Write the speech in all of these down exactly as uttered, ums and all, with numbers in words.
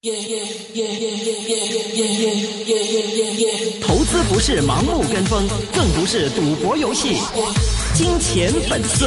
投資不是盲目跟風，更不是賭博遊戲。金錢本色。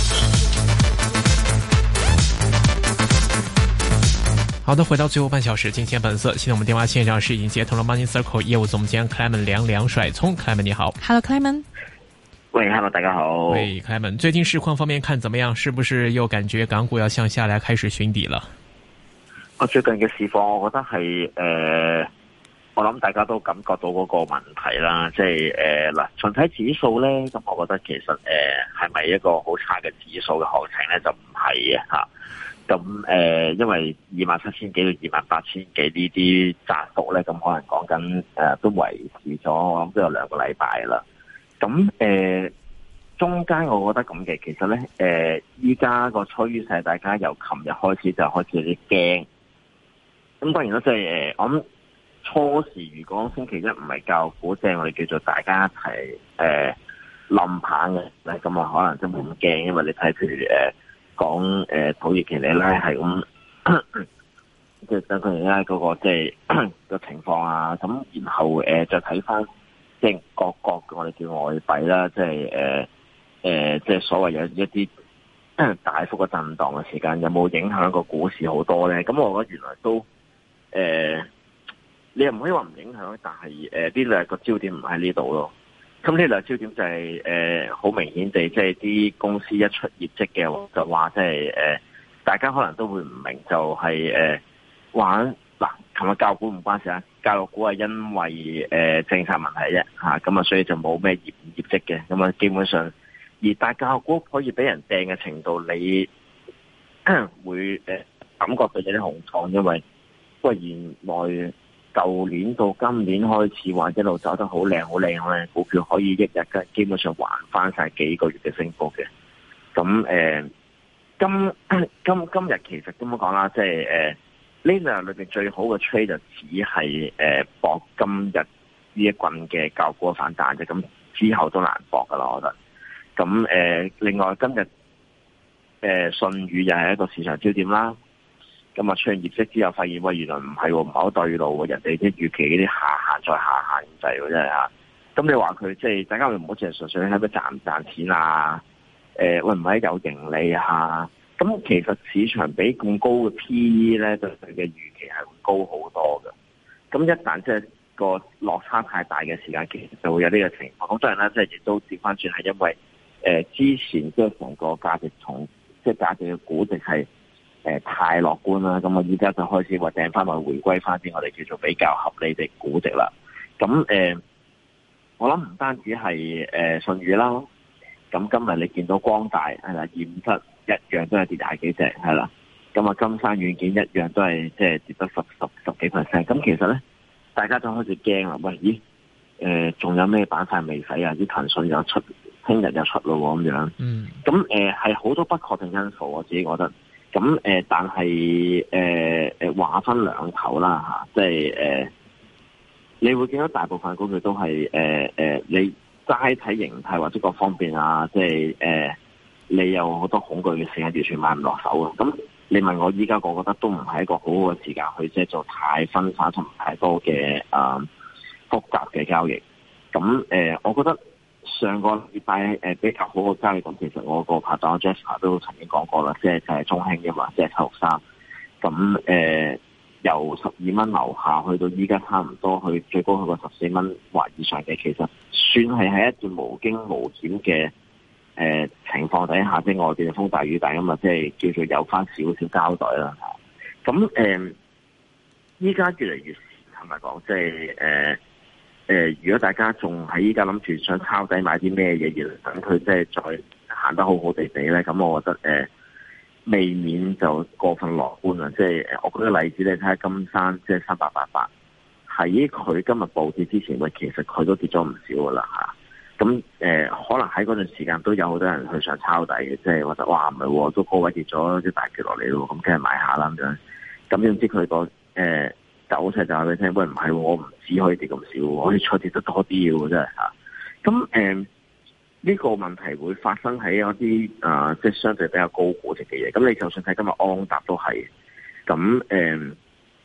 好的，回到最後半小時，金錢本色。現在我們電話線上是已經接通了 Money Circle 業務總監 Clement 梁梁帥聰 Clement 你好。 Hello Clement。 喂 ，Hello 大家好。 喂 Clement，最近市況方面看怎麼樣？是不是又感覺港股要向下來開始尋底了？ 我最近嘅市況，我覺得係誒、呃，我諗大家都感覺到嗰個問題啦，即係誒嗱，純睇指數咧，咁我覺得其實誒係咪一個好差嘅指數嘅行情咧，就唔係嘅吓。咁誒、呃，因為二萬七千幾到二萬八千幾呢啲窄幅咧，咁可能講緊誒都維持咗，我諗都有兩個禮拜啦。咁誒、呃，中間我覺得咁嘅，其實咧誒，依家個趨勢，大家由琴日開始就開始有啲驚。咁當然啦，即係誒，我諗初時如果星期一唔係教股，即係我哋叫做大家一齊誒冧棒嘅咧，咁啊可能真冇咁驚，因為你睇譬如誒講誒土耳其里拉係咁，即係等佢而家嗰個即係個情況啊，咁然後誒、呃、再睇翻即係各國我哋叫外幣啦，即係誒誒即係所謂有一啲大幅嘅震盪嘅時間，有冇影響個股市好多咧？咁我覺得原來都。誒、呃，你又唔可以話唔影響，但係誒呢兩個焦點唔喺呢度咯。咁呢兩個焦點就係誒好明顯地，即係啲公司一出業績嘅，就話即係誒，大家可能都會唔明，就係、是、誒、呃、玩嗱，琴日教股唔關事啊，教育股係因為誒、呃、政策問題啫吓，咁啊所以就冇咩業業績嘅，咁啊基本上，而大教育股可以俾人掟嘅程度，你會誒、呃、感覺到有啲恐慌，因為。不過原來舊年到今年開始話一路走得好靚好靚咧，股票可以一日嘅基本上還翻晒幾個月嘅升幅嘅。咁誒、呃，今今今日其實咁樣講啦，即係誒呢兩日裏邊最好嘅 trade 就只係誒博今日呢一棍嘅教股反彈啫。咁之後都難博噶啦，我覺得。咁誒、呃，另外今日誒舜宇又係一個市場焦點啦。咁啊，出現業績之後，發現喂，原來唔係喎，唔係好對路喎，人哋啲預期嗰啲下限再下限咁滯喎，真係嚇。咁你話佢即係大家會唔好淨係純粹喺度賺唔賺錢啊？誒、呃，會唔會有盈利啊？咁其實市場比咁高嘅 P E 咧，對佢嘅預期係會高好多嘅。咁一旦即係個落差太大嘅時間，其實就會有呢個情況。咁當然啦，即係亦都調翻轉係因為誒、呃、之前即係成個價值從即係價值嘅估值係。誒、呃，太樂觀啦，咁我依家就開始話掟翻埋回歸翻啲我哋叫做比較合理嘅估值啦。咁誒、呃，我諗唔單止係誒舜宇啦，咁今日你見到光大係啦，驗出一樣都係跌廿幾隻係啦，咁啊金山軟件一樣都係即係跌得十十十幾 percent。咁其實咧，大家就開始驚啦，喂，咦，誒、呃，仲有咩板塊未使啊？啲騰訊又出，聽日又出咯咁樣。嗯。咁誒係好多不確定因素，我自己覺得。咁誒、呃，但係誒誒話分兩頭啦嚇，即係誒，你會見到大部分股票都係誒誒，你齋睇形態或者各方面啊，即係誒，你有好多恐懼嘅事情，完全買唔落手嘅。咁你問我依家，我覺得都唔係一個好好嘅時間去即係做太分散同太多嘅啊複雜嘅交易。咁誒、呃，我覺得。上個禮拜誒比較好嘅交易，咁其實我個拍檔 Jasper 都曾經講過啦，即係就係中興嘅嘛，即係七六三。咁誒由十二蚊樓下去到依家差唔多去最高去過十四蚊或以上嘅，其實算係喺一段無驚無險嘅誒情況底下，即係外邊風大雨大咁啊，即係叫做有翻少少交代啦。咁誒依家越嚟越係咪講，即係誒？呃誒、呃，如果大家仲喺依家諗住想抄底買啲咩嘢，而等佢即係再行得好好地地咧，咁我覺得誒、呃，未免就過分樂觀啦。即係誒，我舉個例子，你睇下金山，即係三八八八，喺佢今日暴跌之前，喂，其實佢都跌咗唔少噶啦吓。咁、啊、誒、呃，可能喺嗰段時間都有好多人去想抄底嘅，即係覺得哇，唔係，都高位跌咗啲大跌落嚟咯，咁梗係買下啦咁樣。咁點知佢個誒？呃走勢就話俾你聽，喂，唔係，我唔只可以跌咁少，我可以再跌得多啲嘅，真係吓。咁誒呢個問題會發生喺一啲啊、呃，即係相對比較高估值嘅嘢。咁你就算睇今日安踏都係，咁誒、呃，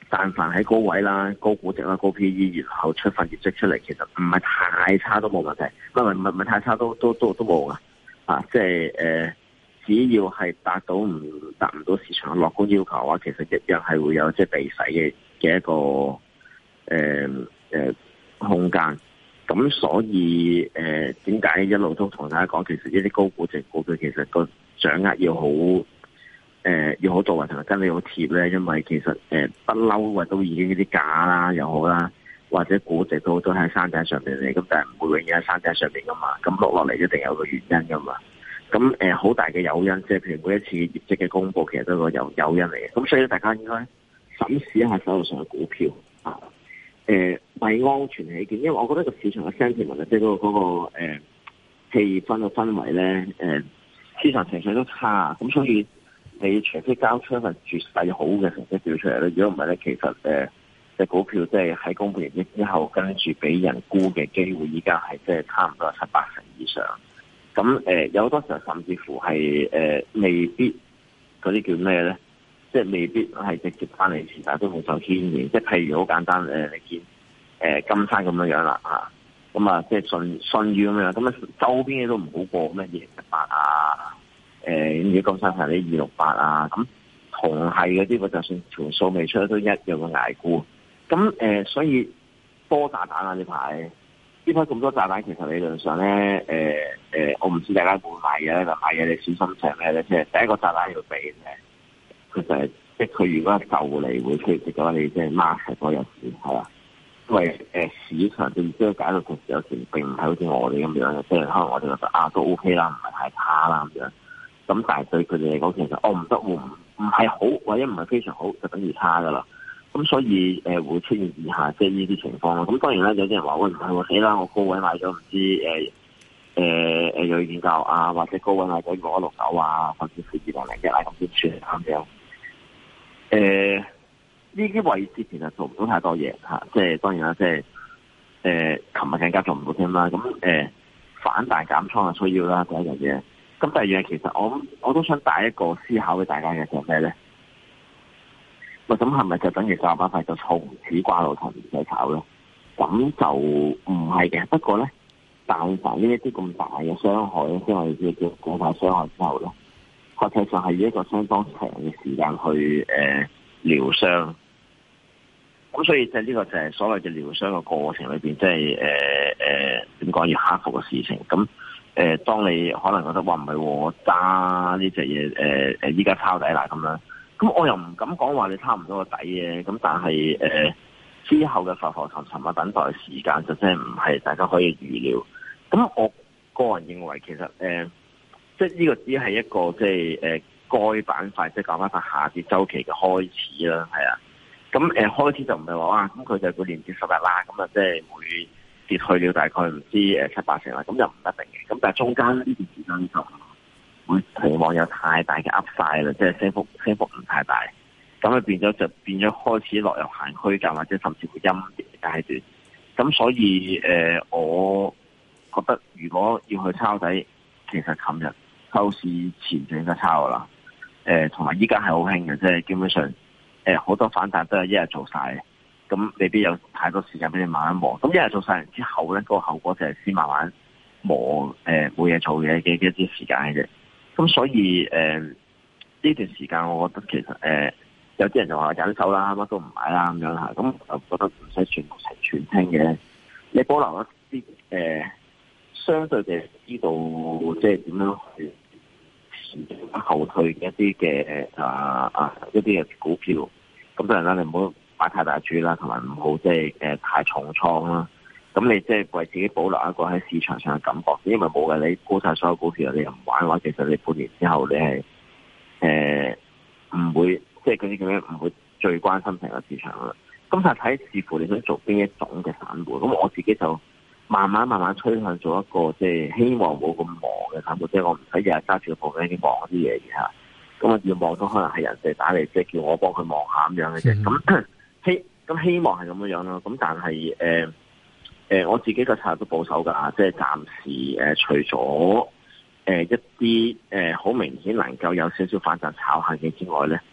但凡喺高位啦、高估值啦、高 P E， 然後出份業績出嚟，其實唔係太差都冇問題，唔係唔係唔係太差都都都都冇噶，啊，即係誒、呃，只要係達到唔達唔到市場嘅樂觀要求嘅話，其實一樣係會有即係避洗嘅嘅一個誒誒、呃、空間。咁所以誒，點、呃、解一路都同大家講，其實呢啲高估值股票其實個掌握要好。誒、呃，要好到位同埋真係好貼咧，因為其實誒不嬲，或、呃、都已經呢啲價啦又好啦，或者估值都都喺山頂上邊嚟，咁但係唔會永遠喺山頂上邊噶嘛，咁落落嚟一定有個原因噶嘛。咁誒好大嘅誘因，即係譬如每一次業績嘅公布，其實都係個有誘因嚟嘅。咁所以大家應該審視一下手頭上嘅股票啊。誒、呃，為安全起見，因為我覺得個市場嘅 sentiment 即係嗰個嗰、那個誒、呃、氣氛嘅氛圍咧，誒、呃、市場情緒都差，咁所以。你除非交出一份絕世好嘅成績表出嚟咧，如果唔係咧，其實誒隻、呃、股票即係喺公布業績之後，跟住俾人沽嘅機會，依家係即係差唔多七八成以上。咁誒、呃、有好多時候甚至乎係誒、呃、未必嗰啲叫咩咧？即係未必係直接翻嚟時，但係都冇受牽連。即係譬如好簡單誒、呃，你見誒、呃、金山咁樣樣啦嚇，咁啊即係信信譽咁樣，咁啊周邊嘅都唔好過咩嘢一百啊。誒，如果金山係啲二六八啊，咁同係嗰啲，我就算條數未出都一樣嘅捱沽。咁誒、呃，所以多炸彈啊！呢排呢排咁多炸彈，其實理論上咧，誒、呃、誒、呃，我唔知大家會買嘢咧，就買嘢你小心係咩咧？即係第一個炸彈要避嘅，佢就係、是、即係佢如果係就嚟會出現嘅話，你即係 mark 係嗰日市係啦。因為誒、呃、市場對即係解到其實有時並唔係好似我哋咁樣嘅，即係可能我哋覺得啊都 OK 啦，唔係太差啦咁樣。咁但係對佢哋嚟講，其實我唔得，唔唔係好，或者唔係非常好，就等於差噶啦。咁所以誒、呃、會出現以下即係呢啲情況咯。咁當然咧，有啲人話喂唔係喎，死啦！我高位買咗唔知誒誒誒有意見教啊，或者高位買咗六一六九啊，甚至乎二零零一啊咁先算咁樣。誒呢啲位置其實做唔到太多嘢嚇、啊，即係當然啦，即係誒琴日更加做唔到添啦。咁誒、呃、反彈減倉係需要啦，第一樣嘢。咁第二樣其實我我都想帶一個思考俾大家嘅就係咩咧？喂，咁係咪就等於三百塊就從此掛到頭唔使炒咧？咁就唔係嘅。不過咧，但凡呢一啲咁大嘅傷害咧，即係叫叫股價傷害之後咧，實際上係以一個相當長嘅時間去誒療傷。咁所以就呢個就係所謂嘅療傷嘅過程裏邊，即係誒誒點講要克服嘅事情。咁誒、呃，當你可能覺得話唔係我揸呢隻嘢，誒誒，依家抄底啦咁樣，咁我又唔敢講話你差唔多個底嘅，咁但係誒、呃、之後嘅浮浮沉沉啊，等待時間就真係唔係大家可以預料。咁我個人認為其實誒、呃，即係呢個只係一個即係誒該板塊即係講翻個下跌周期嘅開始啦，係啊。咁誒、呃、開始就唔係話哇，咁佢就會連跌十日啦，咁啊即係會跌去了大概唔知誒七八成啦，咁就唔一定嘅。咁但係中間呢段時間就會期望有太大嘅 Upside 啦，即係升幅升幅唔太大，咁啊變咗就變咗開始落入行區間或者甚至乎陰跌嘅階段。咁所以誒、呃，我覺得如果要去抄底，其實琴日收市前就應該抄噶啦。誒、呃，同埋依家係好興嘅，即係基本上誒好、呃、多反彈都係一日做晒。咁未必有太多時間俾你慢慢磨，咁一日做晒完之後咧，嗰、那個後果就係先慢慢磨，誒冇嘢做嘅嘅一啲時間嘅啫。咁所以誒呢、呃、段時間，我覺得其實誒、呃、有啲人就話忍手啦，乜都唔買啦咁樣嚇，咁我覺得唔使全部成全聽嘅，你保留一啲誒、呃、相對嘅知道，即係點樣去前進後退嘅一啲嘅啊啊一啲嘅股票，咁當然啦，你唔好買太大注啦，同埋唔好即係誒太重倉啦。咁你即係為自己保留一個喺市場上嘅感覺，因為冇嘅，你沽晒所有股票，你又唔玩嘅話，其實你半年之後你係誒唔會即係嗰啲咁樣唔會最關心成個市場啦。咁就睇視乎你想做邊一種嘅散戶。咁我自己就慢慢慢慢趨向做一個即係希望冇咁忙嘅散戶，即係我唔使日日揸住個部機望嗰啲嘢嘅嚇。咁我要望到可能係人哋打嚟，即係叫我幫佢望下咁樣嘅啫。咁希咁希望係咁樣樣咯。咁但係誒誒，我自己個策略都保守㗎，即係暫時誒、呃，除咗誒、呃、一啲誒好明顯能夠有少少反彈炒下嘅之外咧，誒、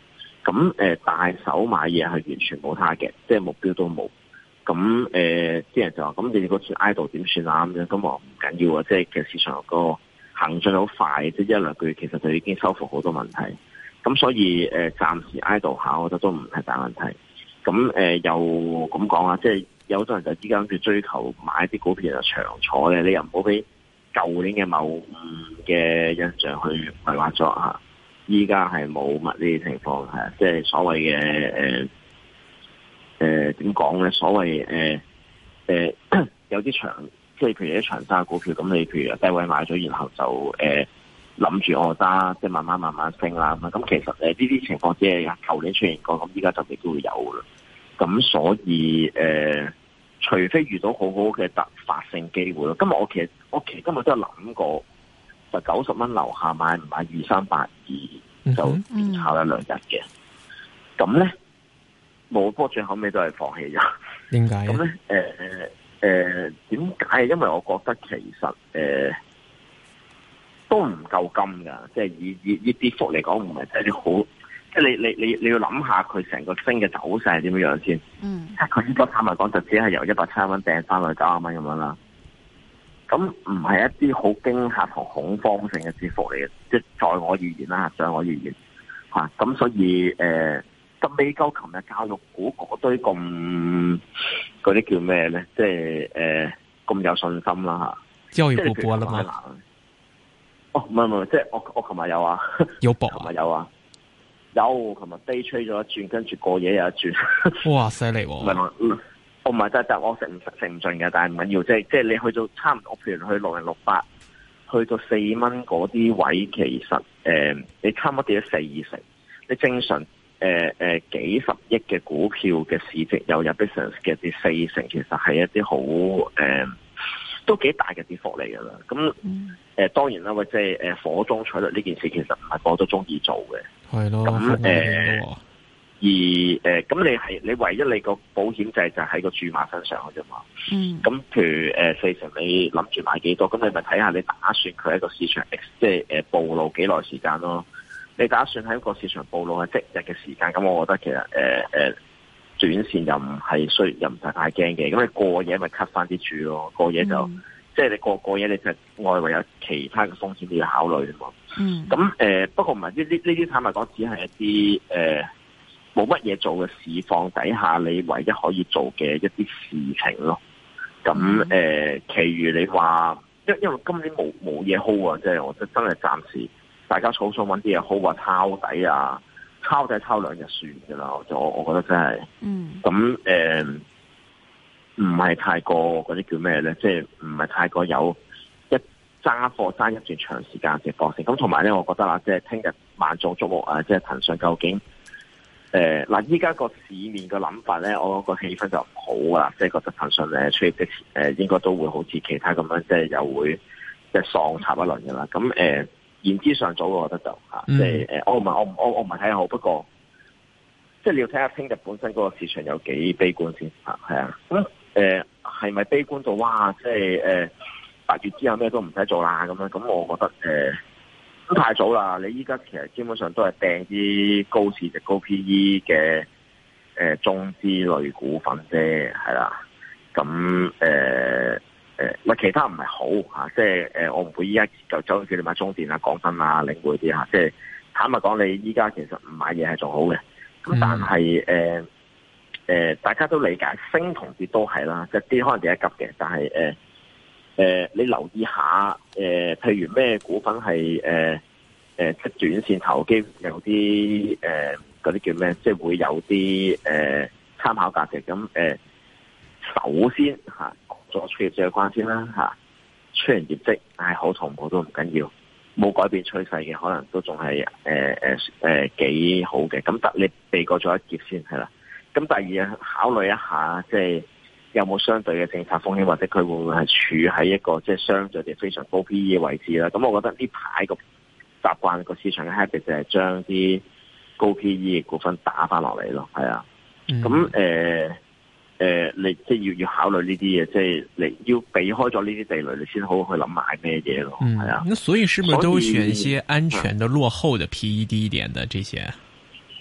咁誒、呃、大手買嘢係完全冇他嘅，即係目標都冇。咁誒啲人就話：咁你嗰次 idle 點算啊？咁樣咁我唔緊要啊，即係其實市場個行進好快，即係一兩個月其實就已經收復好多問題。咁所以誒、呃、暫時 idle 下，我覺得都唔係大問題。咁誒、呃、又咁講啊，即係有好多人就依家諗住追求買啲股票就長坐咧，你又唔好俾舊年嘅謬誤嘅印象去迷惑咗嚇。依家係冇乜呢啲情況係，即係所謂嘅誒誒點講咧？所謂誒誒、呃、有啲長，即係譬如啲長揸股票，咁你譬如低位買咗，然後就誒諗住我揸，即係慢慢慢慢升啦咁。咁其實誒呢啲情況只係舊年出現過，咁依家就亦都會有㗎啦。咁所以誒、呃，除非遇到好好嘅突發性機會咯。今日我其實我其實今日都有諗過。就九十蚊樓下買唔買二三八二就炒一兩日嘅，咁咧冇波，最後尾都係放棄咗。 點解？ 咁咧誒誒點解？因為我覺得其實誒、呃、都唔夠金㗎，即係以以以跌幅嚟講，唔係睇啲好，即係你你你你要諗下佢成個升嘅走勢係點樣樣先。嗯，即係佢呢個坦白講就只係由一百七十蚊掟翻去九十蚊咁樣啦。咁唔係一啲好驚嚇同恐慌性嘅跌幅嚟嘅，即係在我而言啦，在我而言嚇。咁、啊、所以誒，咁未夠琴日教育股嗰堆咁嗰啲叫咩咧？即係誒咁有信心啦嚇。教育股播啦嘛？哦，唔係唔係，即係我我琴日有啊，有博，琴日有啊，有琴日 day trade 咗一轉，跟住過夜有一轉。哇！犀利喎！我唔係真係，我食唔食唔盡嘅，但係唔緊要，即係即係你去到差唔多，譬如去六零六八，去到四蚊嗰啲位，其實誒、呃，你差唔多跌咗四成。你正常誒誒、呃呃、幾十億嘅股票嘅市值又有 business 嘅跌四成，其實係一啲好誒，都幾大嘅跌幅嚟㗎啦。咁誒、呃、當然啦，或者係誒火中取栗呢件事，其實唔係個個都中意做嘅。係咯。咁誒。而誒，咁、呃、你係你唯一你個保險制就喺個注碼身上嘅啫嘛。嗯。咁譬如誒、呃、四成，你諗住買幾多？咁你咪睇下你打算佢喺個市場，即係誒暴露幾耐時間咯。你打算喺個市場暴露係即日嘅時間，咁我覺得其實誒誒、呃、短線又唔係需又唔使太驚嘅。咁你過夜咪 cut 翻啲注咯，過夜就、嗯、即係你過過夜你就外圍有其他嘅風險你要考慮啊嘛。嗯。咁誒、呃、不過唔係呢啲呢啲坦白講，只係一啲誒。呃冇乜嘢做嘅市況底下，你唯一可以做嘅一啲事情咯。咁誒、呃，其餘你話，因因為今年冇冇嘢 hold 啊，即係我覺得真係暫時大家草草揾啲嘢 hold 啊，抄底啊，抄底抄兩日算㗎啦。我我我覺得真係，嗯，咁誒，唔係太過嗰啲叫咩咧？即係唔係太過有一揸貨揸一段長時間嘅過程。咁同埋咧，我覺得啦，即係聽日萬眾矚目啊，即係騰訊究竟。誒嗱，依家個市面嘅諗法咧，我個氣氛就唔好啊，即係覺得騰訊誒出業的誒應該都會好似其他咁樣，即係又會即係喪插一輪嘅啦。咁誒、呃、言之尚早，我覺得就嚇，即係誒我唔係我唔我我唔係睇好，不過即係你要睇下聽日本身嗰個市場有幾悲觀先嚇，係啊。咁誒係咪悲觀到哇？即係誒八月之後咩都唔使做啦咁樣？咁我覺得誒。呃都太早啦！你依家其實基本上都係掟啲高市值、高 P E 嘅誒、呃、中資類股份啫，係啦。咁誒誒，咪、呃、其他唔係好嚇、啊，即係誒、呃、我唔會依家就走去叫你買中電啊、港燈啊、領匯啲嚇。即係坦白講，你依家其實唔買嘢係仲好嘅。咁但係誒誒，大家都理解升同跌都係啦，即係跌可能跌一急嘅，但係誒。呃誒、呃，你留意下，誒、呃，譬如咩股份係誒誒，即、呃、係、呃、短線投機有啲誒嗰啲叫咩？即係會有啲誒參考價值。咁誒、呃，首先吓做出業績嘅關先啦吓，出完業績係好同唔好都唔緊要，冇改變趨勢嘅，可能都仲係誒誒誒幾好嘅。咁得你避過咗一劫先係啦。咁第二考慮一下，即係。有冇相對嘅政策風險，或者佢會唔會係處喺一個即係相對地非常高 P E 嘅位置啦？咁我覺得呢排個習慣個市場嘅 habit 就係將啲高 P E 嘅股份打翻落嚟咯，係啊。咁誒誒，你即係要要考慮呢啲嘢，即係你要避開咗呢啲地雷，你先好去諗買咩嘢咯，係啊。 那所以是不是都選一些安全的、落後的 P E 低一點的這些？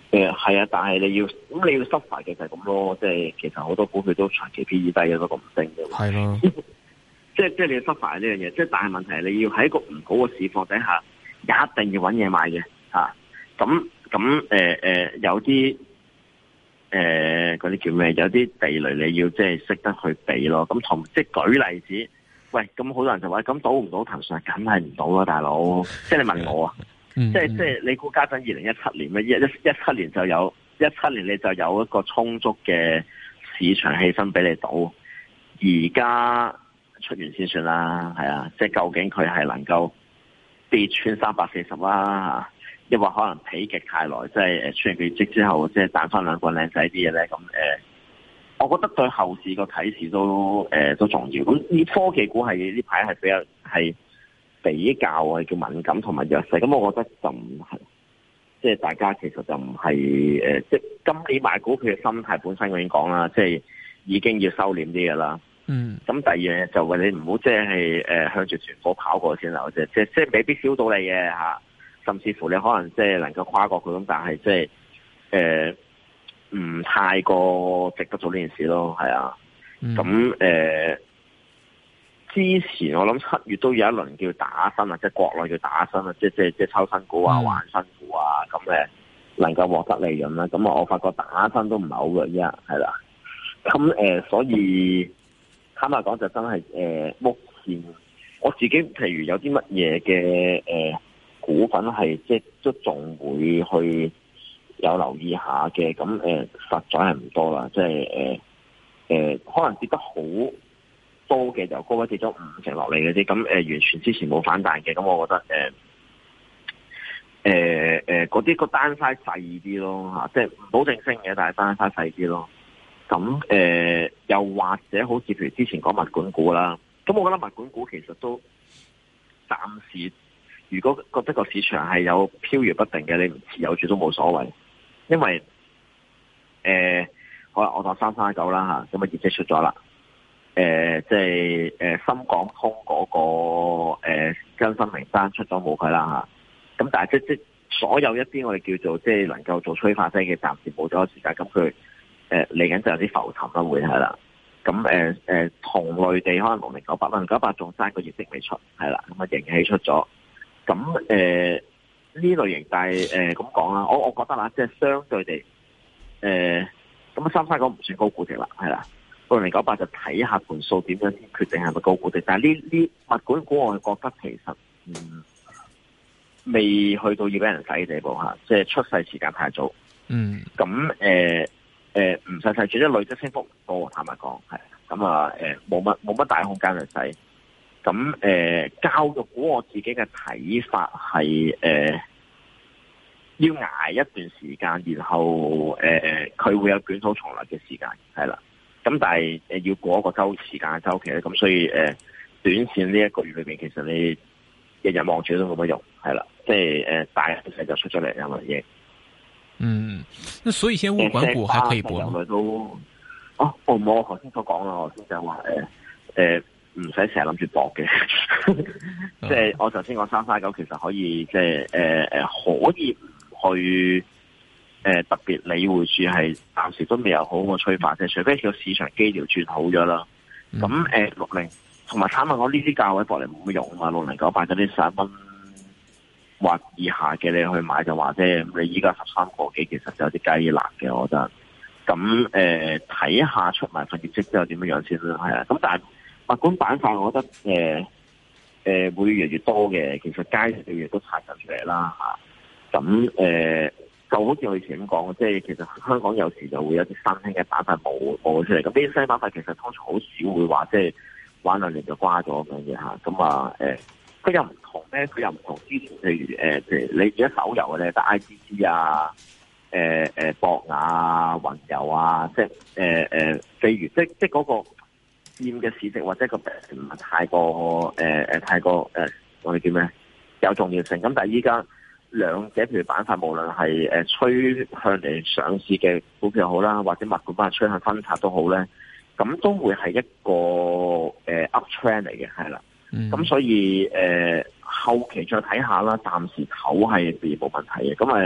誒係啊，但係你要咁你要執法嘅就係咁咯，即係其實好多股票都長期 P E 低嘅，都咁升嘅。 係咯， 即係即係你要執法呢樣嘢，即係但係問題係你要喺一個唔好嘅市況底下，一定要揾嘢買嘅嚇。咁咁誒誒有啲誒嗰啲叫咩？有啲地雷你要即係識得去避咯。咁同即係舉例子，喂，咁好多人就話咁賭唔賭騰訊，梗係唔賭啦，大佬。即係你問我啊。 嗯、 即係即係你估家陣二零一七年咩？一一一七年就有一七年你就有一個充足嘅市場氣氛俾你賭，而家出完先算啦，係啊！即係究竟佢係能夠跌穿三百四十啦，抑或可能否極太耐，即係誒出完業績之後，即係彈翻兩個靚仔啲嘢咧？咁誒、呃，我覺得對後市個啟示都誒、呃、都重要。咁呢科技股係呢排係比較係。比較係叫敏感同埋弱勢，咁我覺得就唔係，即係大家其實就唔係誒，即係今年買股票嘅心態本身我已經講啦，即係已經要收斂啲嘅啦。嗯。咁第二樣嘢就話你唔好即係誒向住團伙跑過先啦，即係即係即係未必燒到你嘅嚇，甚至乎你可能即係能夠跨過佢咁，但係即係誒唔太過值得做呢件事咯，係啊。咁誒。嗯呃之前我諗七月都有一輪叫打新啊，即係國內叫打新啊，即係即係即係抽新股啊、玩新股啊，咁誒能夠獲得利潤啦。咁啊，我發覺打新都唔係好嘅，依家係啦。咁誒、呃，所以坦白講就真係誒、呃，目前我自己譬如有啲乜嘢嘅誒股份係即係都仲會去有留意下嘅，咁誒、呃、實在係唔多啦，即係誒誒可能跌得好多嘅就高位跌咗五成落嚟嘅啲，咁誒、呃、完全之前冇反彈嘅，咁我覺得誒誒誒嗰啲個單 size 細啲咯嚇，即係唔保證升嘅，但係單 size 細啲咯。咁誒、呃、又或者好似譬如之前講物管股啦，咁我覺得物管股其實都暫時，如果覺得個市場係有飄搖不定嘅，你唔持有住都冇所謂，因為誒、呃、好啦，我當三三一九啦嚇，咁啊業績出咗啦。誒、呃，即係誒、呃，深港通嗰、那個誒更新名單出咗冇佢啦吓，咁但係即即所有一啲我哋叫做即係能夠做催化劑嘅，暫時冇咗時間，咁佢誒嚟緊就有啲浮沉啦，會係啦。咁誒誒，同類地可能六零九八，六零九八仲爭個業績未出，係啦，咁啊盈喜出咗，咁誒呢類型，但係誒咁講啦，我我覺得啦，即係相對地，誒咁三三九唔算高估值啦，係啦。六零九八就睇下盤數點樣先決定係咪高估值，但係呢呢物管股我係覺得其實嗯未去到要俾人洗嘅地步吓，即係出世時間太早。嗯，咁誒誒唔使洗，最多累積升幅唔多，坦白講係。咁啊誒冇乜冇乜大空間去洗。咁誒、呃、教育股我自己嘅睇法係誒、呃、要捱一段時間，然後誒佢、呃、會有捲土重來嘅時間，係啦。咁但係誒要過一個周時間嘅周期咧，咁所以誒、呃、短線呢一個月裏邊，其實你日日望住都冇乜用，係啦，即係誒大勢就出咗嚟有乜嘢？ 嗯，那所以現在物管股還可以搏嗎？ 都哦，我我頭先所講啦，我先就話誒誒唔使成日諗住搏嘅，即係我頭先講三三九其實可以即係誒誒可以唔去。誒、呃，特別理會住係暫時都未有好個催化，即係除非個市場基調轉好咗啦。咁誒六零同埋坦白講呢啲價位博嚟冇乜用啊嘛，六零九八嗰啲十一蚊或以下嘅你去買就話啫。你依家十三個幾，其實就有啲雞肋嘅，我覺得。咁誒睇下出埋份業績之後點樣樣先啦，係啊。咁但係物管板塊，我覺得誒誒、呃呃、會越嚟越多嘅，其實街嘅嘢都排緊出嚟啦吓。咁、啊、誒。呃就好似我以前咁講，即係其實香港有時就會有啲新興嘅板塊冒冒出嚟。咁呢啲新板塊其實通常好少會話即係玩兩年就瓜咗咁樣嘅嚇。咁啊誒，佢又唔同咧，佢又唔同之前，譬如誒，譬如你而家手遊嘅咧，得 I G G 啊，誒誒博雅啊、雲遊啊，即係誒誒，譬如即即嗰個佔嘅市值或者個唔係太過誒誒太過誒，我哋叫咩有重要性。咁但係依家。兩者譬如板塊，無論係誒趨向嚟上市嘅股票好啦，或者物管板趨向分拆都好咧，咁都會係一個誒、呃、up trend 嚟嘅，係啦。咁、嗯、所以誒、呃、後期再睇下啦，暫時唞係冇問題嘅。咁誒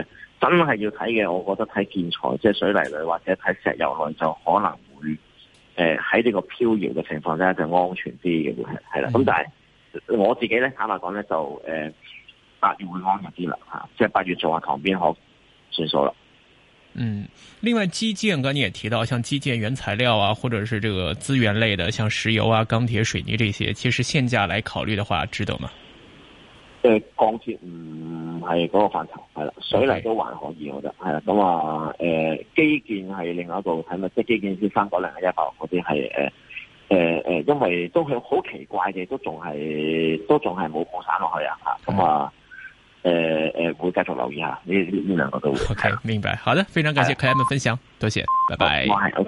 真係要睇嘅，我覺得睇建材，即係水泥類或者睇石油類就可能會誒喺呢個飄搖嘅情況之下就安全啲嘅會係係啦。咁、嗯、但係我自己咧坦白講咧就誒八、呃、月會安逸啲啦吓，即係八月做下塘邊可算數啦。 嗯，另外基建，剛才你也提到，像基建原材料啊，或者是這個資源類的，像石油啊、鋼鐵、水泥這些，其實現價來考慮的話，值得嗎？ 誒、呃，鋼鐵唔係嗰個範疇，係啦，水泥都還可以，我覺得係啦。咁啊，誒、呃，基建係另外一個睇乜，即係基建先三九零啊、一百嗰啲係誒誒誒，因為都係好奇怪嘅，都仲係都仲係冇擴散落去啊，吓咁啊。誒誒，會繼續留意下呢呢呢兩個都會。 OK，明白。好的，非常感謝 Clement 分享，多謝，拜拜。